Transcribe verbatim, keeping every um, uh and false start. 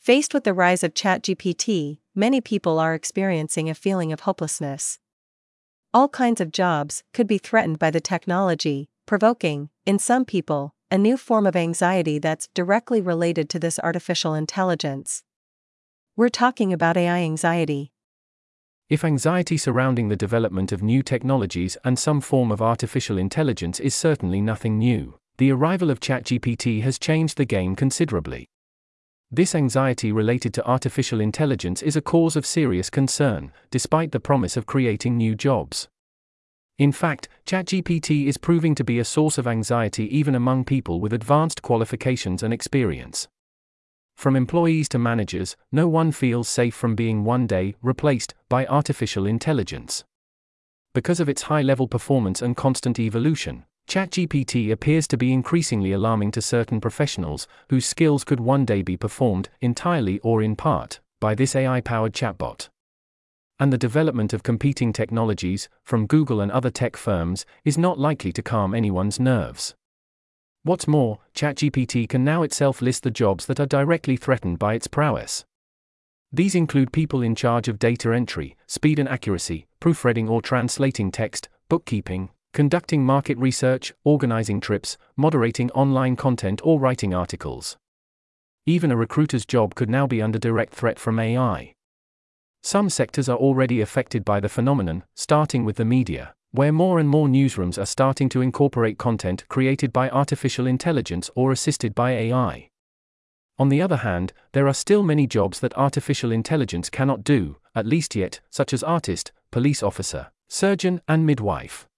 Faced with the rise of ChatGPT, many people are experiencing a feeling of hopelessness. All kinds of jobs could be threatened by the technology, provoking, in some people, a new form of anxiety that's directly related to this artificial intelligence. We're talking about A I anxiety. If anxiety surrounding the development of new technologies and some form of artificial intelligence is certainly nothing new, the arrival of ChatGPT has changed the game considerably. This anxiety related to artificial intelligence is a cause of serious concern, despite the promise of creating new jobs. In fact, ChatGPT is proving to be a source of anxiety even among people with advanced qualifications and experience. From employees to managers, no one feels safe from being one day replaced by artificial intelligence. Because of its high-level performance and constant evolution, ChatGPT appears to be increasingly alarming to certain professionals whose skills could one day be performed, entirely or in part, by this A I-powered chatbot. And the development of competing technologies, from Google and other tech firms, is not likely to calm anyone's nerves. What's more, ChatGPT can now itself list the jobs that are directly threatened by its prowess. These include people in charge of data entry, speed and accuracy, proofreading or translating text, bookkeeping, conducting market research, organizing trips, moderating online content or writing articles. Even a recruiter's job could now be under direct threat from A I. Some sectors are already affected by the phenomenon, starting with the media, where more and more newsrooms are starting to incorporate content created by artificial intelligence or assisted by A I. On the other hand, there are still many jobs that artificial intelligence cannot do, at least yet, such as artist, police officer, surgeon, and midwife.